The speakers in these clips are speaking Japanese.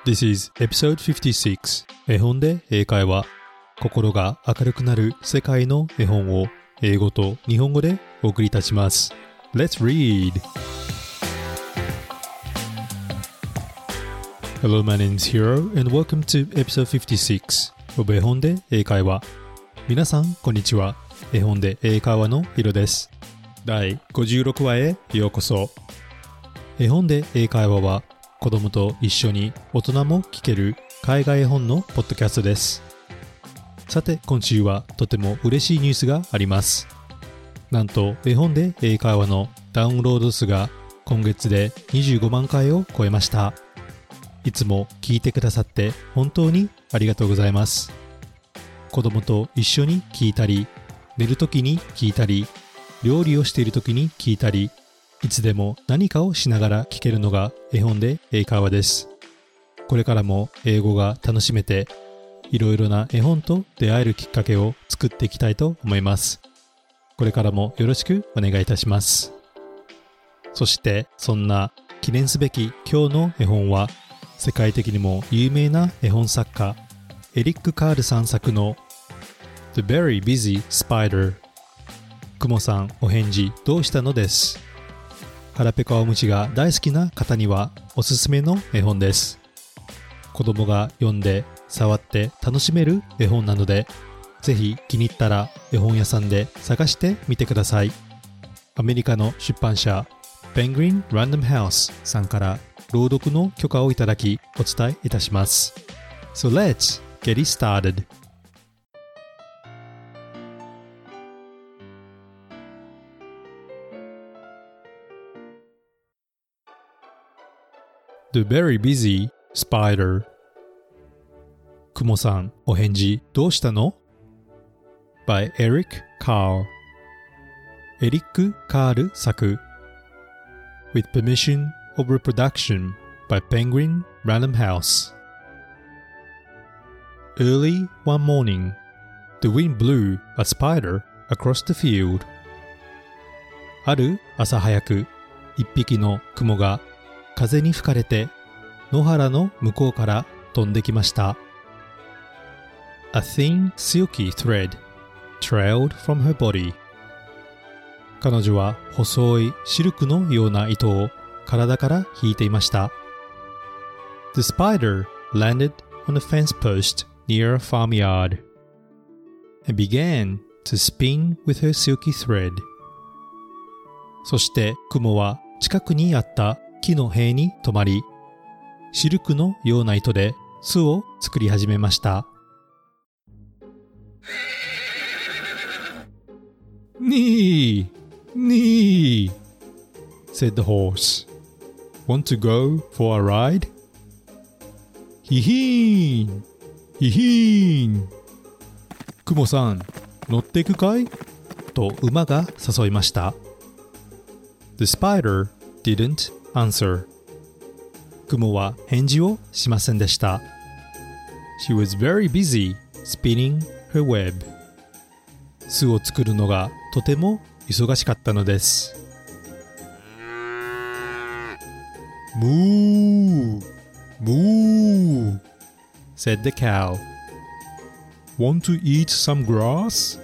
This is episode 56 絵本で英会話。心が明るくなる世界の絵本を英語と日本語でお送りいたします。Let's read! Hello, my name is Hiro and welcome to episode 56 of 絵本で英会話。皆さん、こんにちは。絵本で英会話のヒロです。第56話へようこそ。絵本で英会話は子供と一緒に大人も聞ける海外絵本のポッドキャストです。さて今週はとても嬉しいニュースがあります。なんと絵本で英会話のダウンロード数が今月で25万回を超えました。いつも聞いてくださって本当にありがとうございます。子供と一緒に聞いたり、寝るときに聞いたり、料理をしているときに聞いたり、いつでも何かをしながら聞けるのが絵本で英会話です。これからも英語が楽しめて、いろいろな絵本と出会えるきっかけを作っていきたいと思います。これからもよろしくお願いいたします。そしてそんな記念すべき今日の絵本は、世界的にも有名な絵本作家エリック・カールさん作の The Very Busy Spider クモさんお返事どうしたのです。腹ペコおむしが大好きな方にはおすすめの絵本です。子供が読んで触って楽しめる絵本なので、ぜひ気に入ったら絵本屋さんで探してみてください。アメリカの出版社ペングリン・ランダム・ハウスさんから朗読の許可をいただきお伝えいたします。So let's get it started. The Very Busy Spider クモさんお返事どうしたの by Eric Carle エリック・カール作 with permission of reproduction by Penguin Random House. Early one morning, the wind blew a spider across the field. ある朝早く、一匹の雲が風に吹かれて野原の向こうから飛んできました。A thin silky thread trailed from her body. 彼女は細いシルクのような糸を体から引いていました。The spider landed on a fence post near a farmyard and began to spin with her silky thread. そして雲は近くにあった木の塀に止まり、シルクのような糸で巣を作り始めました。にー said the horse. Want to go for a ride? ひひーんクモさん乗っていくかいと馬が誘いました。The spider didn't answer. クモは返事をしませんでした。She was very busy spinning her web. 巣を作るのがとても忙しかったのです。Moo, moo, said the cow. Want to eat some grass?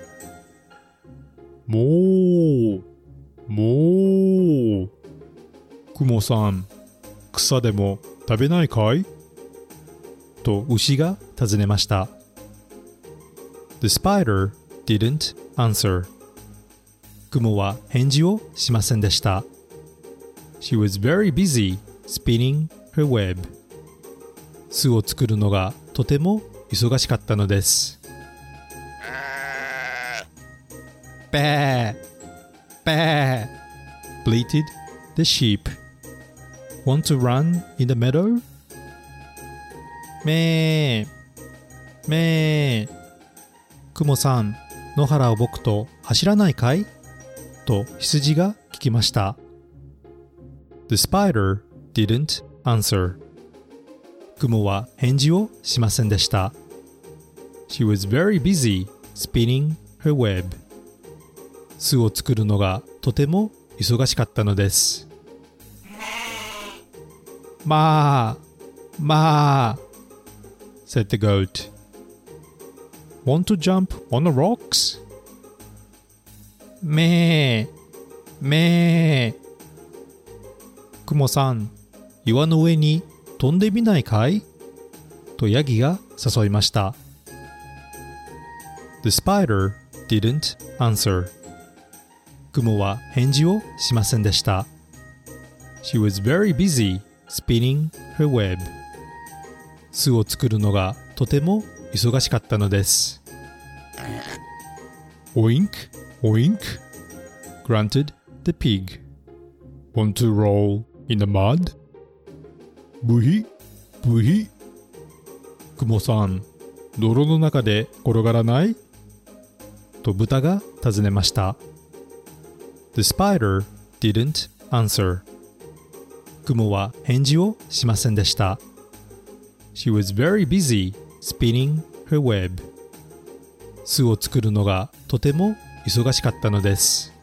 Moo, moo. クモさん、草でも食べないかいと牛が尋ねました。The spider didn't answer. クモは返事をしませんでした。She was very busy spinning her web. 巣を作るのがとても忙しかったのです。Baa, baa, bleated the sheep. Want to run in the meadow? めー、めー。クモさん、野原を僕と走らないかいと羊が聞きました。The spider didn't answer. クモは返事をしませんでした。She was very busy spinning her web. 巣を作るのがとても忙しかったのです。まあ、 まあ said the goat. Want to jump on the rocks? めーめー。クモさん、岩の上に飛んでみないかいとヤギが誘いました。The spider didn't answer. クモは返事をしませんでした。She was very busy spinning her web. 巣を作るのがとても忙しかったのです。Oink, oink, grunted the pig. Want to roll in the mud? ブヒブヒ。クモさん、泥の中で転がらないと豚が尋ねました。The spider didn't answer. クモは返事をしませんでした。She was very busy spinning her web. 巣を作るのがとても忙しかったのです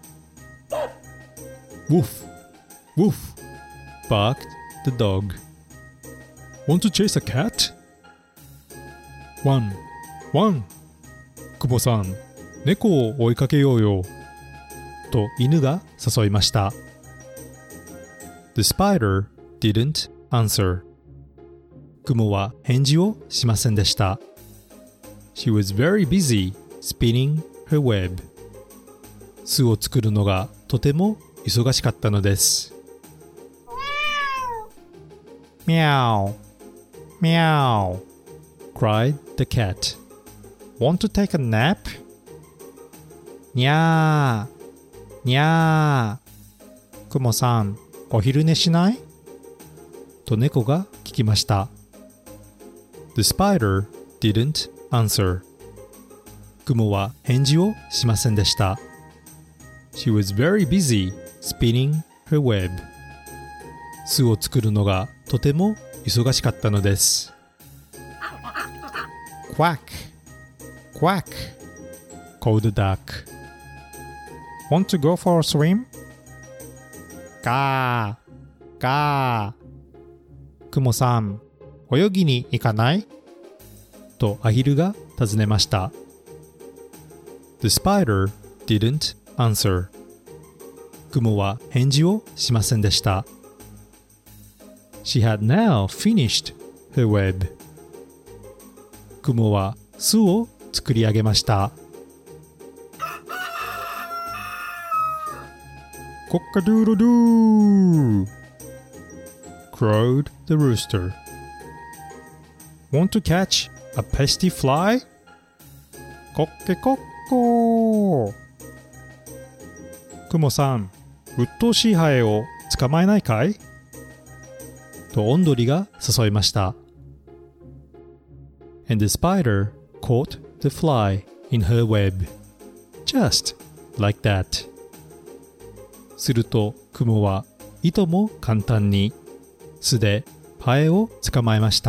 。Woof, woof, barked the dog. Want to chase a cat? One, one. クモさん、猫を追いかけようよ。と犬が誘いました。The spider didn't answer. クモは返事をしませんでした。She was very busy spinning her web. 巣を作るのがとても忙しかったのです。Meow, meow, cried the cat. Want to take a nap? にゃー、にゃー。クモさん、お昼寝しないと猫が聞きました。The spider didn't answer. クモは返事をしませんでした。She was very busy spinning her web. 巣を作るのがとても忙しかったのです。Quack, quack, called the duck. Want to go for a swim? ガー、ガー。クモさん、泳ぎに行かないとアヒルが尋ねました。The spider didn't answer. クモは返事をしませんでした。She had now finished her web. クモは巣を作り上げました。コッカドゥーロドゥー crowed the rooster. Want to catch a pesky fly? コッケコッコー。クモさん、鬱陶しいハエを捕まえないかいとオンドリが誘いました。And the spider caught the fly in her web. Just like that. するとクモはいとも簡単に巣でハエを捕まえました。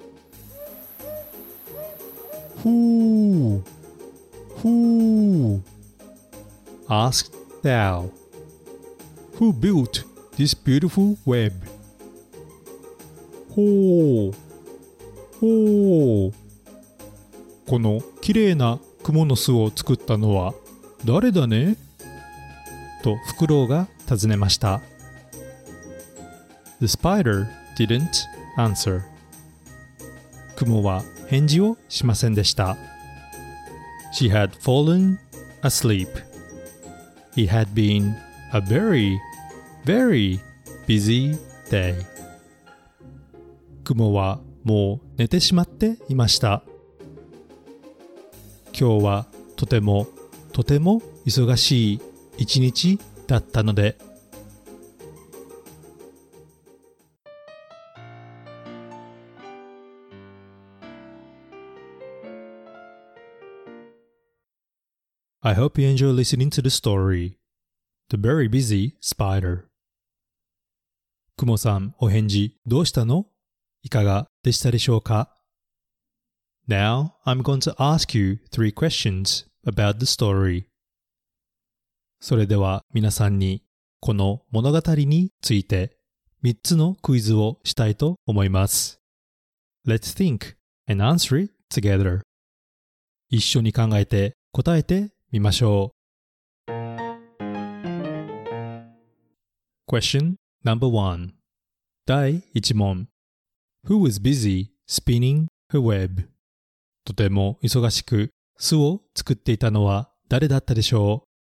ふー、ふー asked the owl. Who built this beautiful web? ほう、ほう。このきれいなクモの巣を作ったのは誰だねとフクロウが尋ねました。The spider didn't answer. クモは返事をしませんでした。She had fallen asleep. It had been a very, very busy day. クモはもう寝てしまっていました。今日はとてもとても忙しい一日だったので。I hope you enjoy listening to the story. The very busy spider. クモさん、お返事どうしたの？いかがでしたでしょうか？ Now, I'm going to ask you 3 questions about the story. それでは皆さんにこの物語について3つのクイズをしたいと思います。 Let's think and answer it together. 一緒に考えて答えてみましょう。Question number 1. 第1問。Who was busy spinning her web? とても忙しく巣を作っていたのは誰だったでしょう？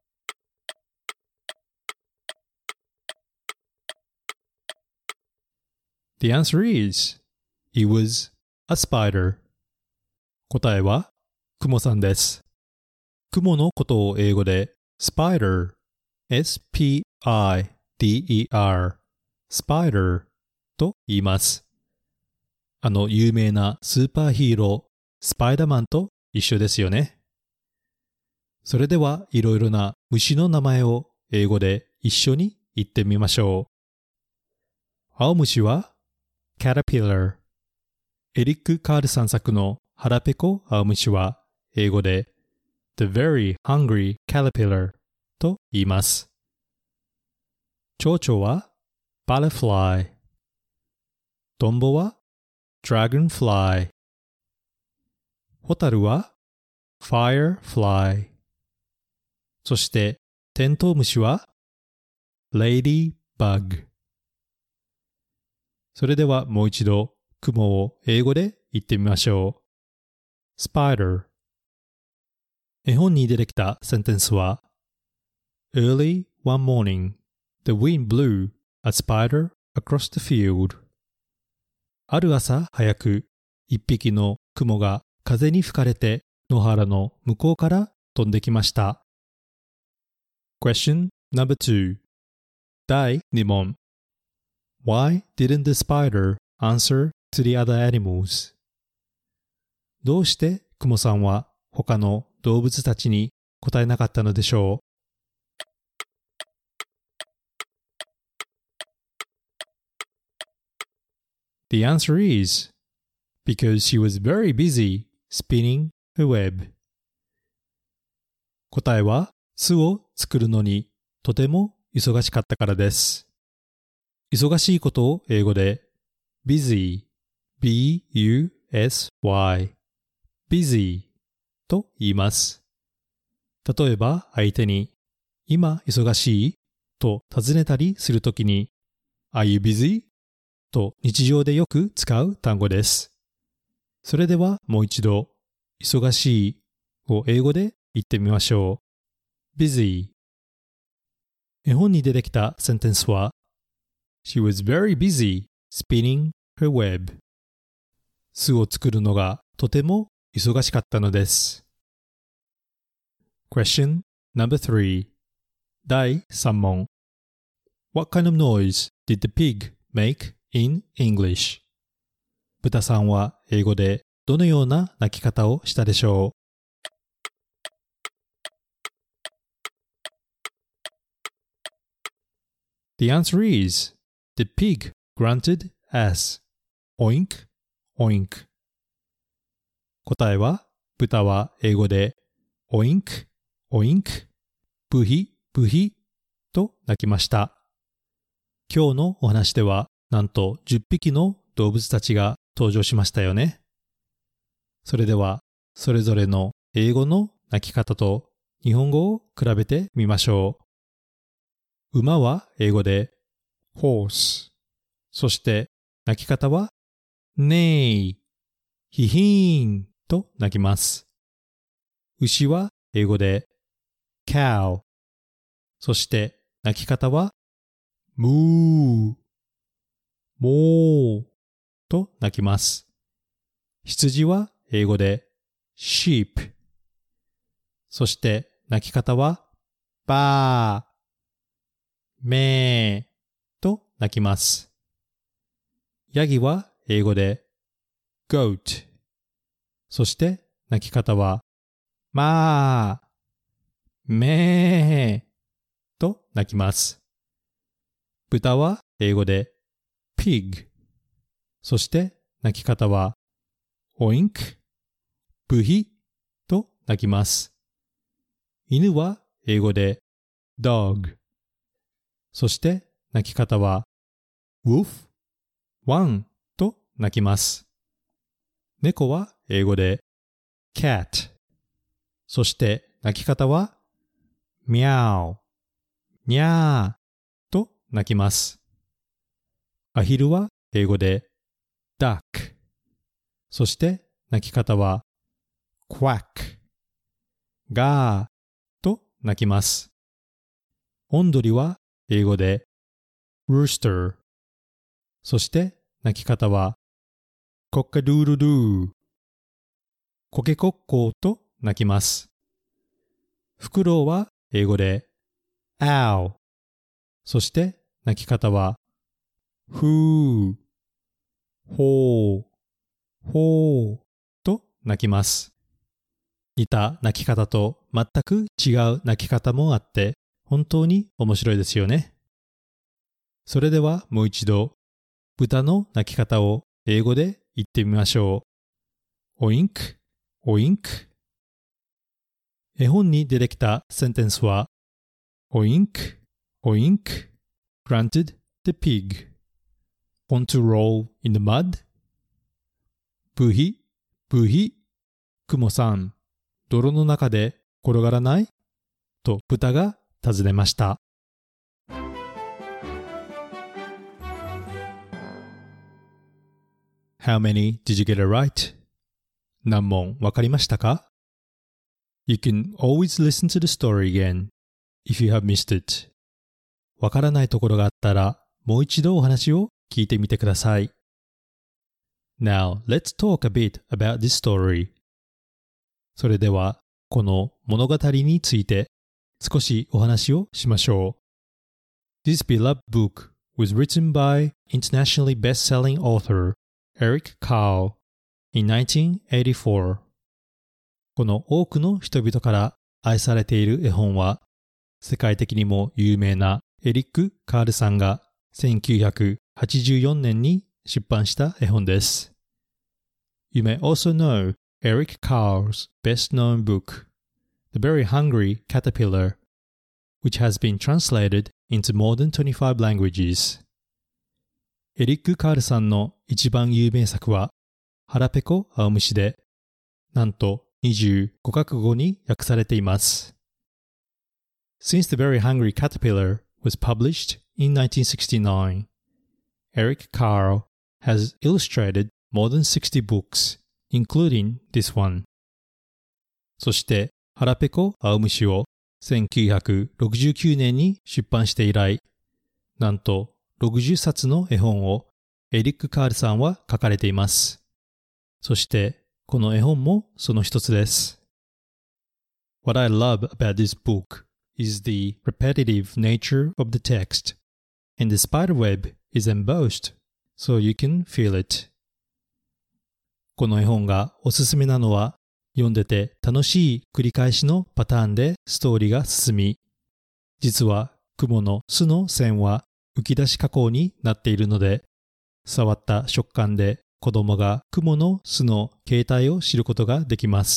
The answer is, it was a spider. 答えはクモさんです。クモのことを英語で spider, S-P-I-D-E-R, spider と言います。有名なスーパーヒーロー、スパイダーマンと一緒ですよね。それではいろいろな虫の名前を英語で一緒に言ってみましょう。青虫はCaterpillar。エリック・カールさん作の腹ペコ青虫は英語で The Very Hungry Caterpillar と言います。蝶々は Butterfly。トンボは Dragonfly。ホタルは Firefly。そしてテントウムシは Ladybug。それではもう一度、雲を英語で言ってみましょう。Spider。絵本に出てきたセンテンスは Early one morning, the wind blew a spider across the field. ある朝早く、一匹の雲が風に吹かれて野原の向こうから飛んできました。Question number 2. 第2問。Why didn't the spider answer to the other animals? どうしてクモさんは他の動物たちに答えなかったのでしょう？ The answer is because she was very busy spinning her web. 答えは巣を作るのにとても忙しかったからです。忙しいことを英語で busy, B-U-S-Y, busy と言います。例えば相手に今忙しいと尋ねたりするときに Are you busy? と日常でよく使う単語です。それではもう一度忙しいを英語で言ってみましょう。busy。絵本に出てきたセンテンスはShe was very busy spinning her web. 巣を作るのがとても忙しかったのです。Question number 3. 第3問。What kind of noise did the pig make in English? 豚さんは英語でどのような鳴き方をしたでしょう？The answer is The pig grunted as oink, oink. 答えは、豚は英語で oink, oink, ブヒ、ブヒと鳴きました。今日のお話では、なんと10匹の動物たちが登場しましたよね。それでは、それぞれの英語の鳴き方と日本語を比べてみましょう。馬は英語でhorse。そして鳴き方は neigh、ヒヒーンと鳴きます。牛は英語で cow。そして鳴き方は moo、moo と鳴きます。羊は英語で sheep。そして鳴き方は baa、メーと鳴きます。ヤギは英語で goat。そして鳴き方はマー、メーと鳴きます。豚は英語で pig。そして鳴き方は oink、ブヒと鳴きます。犬は英語で dog。そして鳴き方は woof、ワンと鳴きます。 猫は英語で cat。そして鳴き方は meow、にゃーと鳴きます。アヒルは英語で duck。そして鳴き方は quack、ガーと鳴きます。オンドリは英語で rooster。そして鳴き方はコッカドゥールドゥー。コケコッコーと鳴きます。フクロウは英語で ow。そして鳴き方はフー、ホー、ホーと鳴きます。似た鳴き方と全く違う鳴き方もあって本当に面白いですよね。それではもう一度豚の鳴き方を英語で言ってみましょう。オインク、オインク。絵本に出てきたセンテンスは Oink, oink, grunted the pig. Want to roll in the mud? ブヒ、ブヒ、クモさん、泥の中で転がらない?と豚が尋ねました。How many did you get it right? 何問わかりましたか? You can always listen to the story again if you have missed it. わからないところがあったらもう一度お話を聞いてみてください。Now, let's talk a bit about this story. それでは、この物語について少しお話をしましょう。This beloved book was written by internationally best-selling author Eric Carle in 1984. この多くの人々から愛されている絵本は、世界的にも有名なエリック・カールさんが1984年に出版した絵本です。You may also know Eric Carle's best-known book, The Very Hungry Caterpillar, which has been translated into more than 25 languages. エリック・カールさんの一番有名作は、腹ペコ青虫で、なんと25カ国語に訳されています。Since The Very Hungry Caterpillar was published in 1969, Eric Carle has illustrated more than 60 books, including this one. そして、腹ペコ青虫を1969年に出版して以来、なんと60冊の絵本をエリック・カールさんは書かれています。そして、この絵本もその一つです。What I love about this book is the repetitive nature of the text, and the spiderweb is embossed, so you can feel it. この絵本がおすすめなのは、読んでて楽しい繰り返しのパターンでストーリーが進み、実は雲の巣の線は浮き出し加工になっているので、触った食感で子供が雲の巣の形態を知ることができます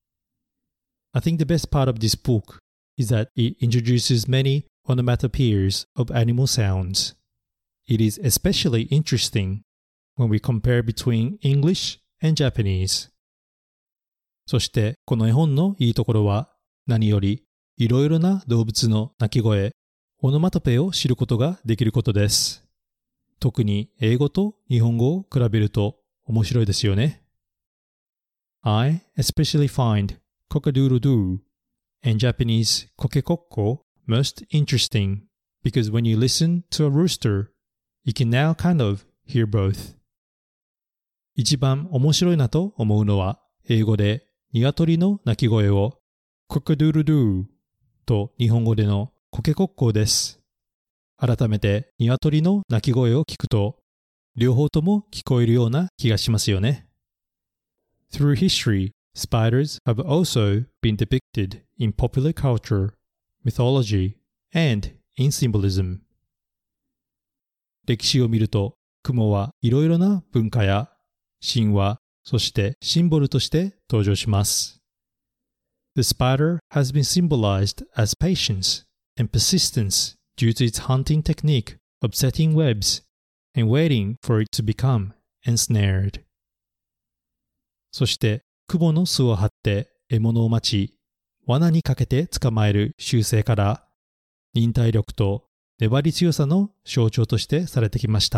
。I think the best part of this book is that it introduces many onomatopoeias of animal sounds. It is especially interesting when we compare between English and Japanese. そしてこの絵本のいいところは何よりいろいろな動物の鳴き声、オノマトペを知ることができることです。特に英語と日本語を比べると面白いですよね。I especially find cock-a-doodle-doo and Japanese kokekokko most interesting because when you listen to a rooster, you can now kind of hear both. 一番面白いなと思うのは英語で鶏の鳴き声を cock-a-doodle-doo と日本語でのコケコッコーです。改めて鶏の鳴き声を聞くと両方とも聞こえるような気がしますよね。Through history, spiders have also been depicted in popular culture, mythology, and in symbolism. 歴史を見ると、雲はいろいろな文化や神話、そしてシンボルとして登場します。The spider has been symbolized as patience and persistence due to its hunting technique of setting webs and waiting for it to become ensnared. そして雲の巣を張って獲物を待ち、罠にかけて捕まえる習性から、忍耐力と粘り強さの象徴としてされてきました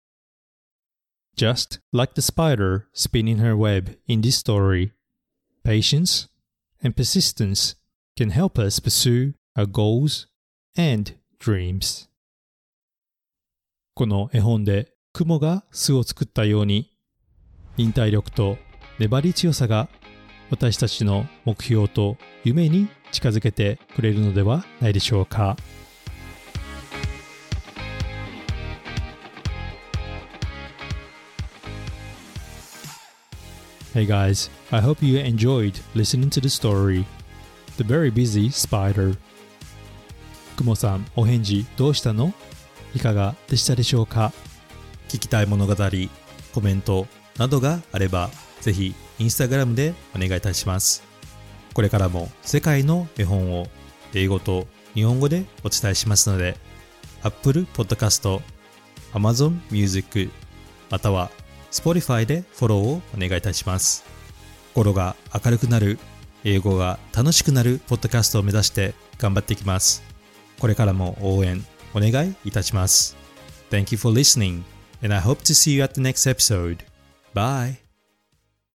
。Just like the spider spinning her web in this story, patience and persistence can help us pursue our goals and dreams. この絵本で雲が巣を作ったように、忍耐力と粘り強さが私たちの目標と夢に近づけてくれるのではないでしょうか。Hey guys, I hope you enjoyed listening to the story. The very busy spider. 雲さん、お返事どうしたの？いかがでしたでしょうか？聞きたい物語、コメントなどがあれば、ぜひインスタグラムでお願いいたします。これからも世界の絵本を英語と日本語でお伝えしますので、Apple Podcast、Amazon Music、またはSpotify でフォローをお願いいたします。心が明るくなる、英語が楽しくなるポッドキャストを目指して頑張っていきます。これからも応援お願いいたします。Thank you for listening, and I hope to see you at the next episode. Bye!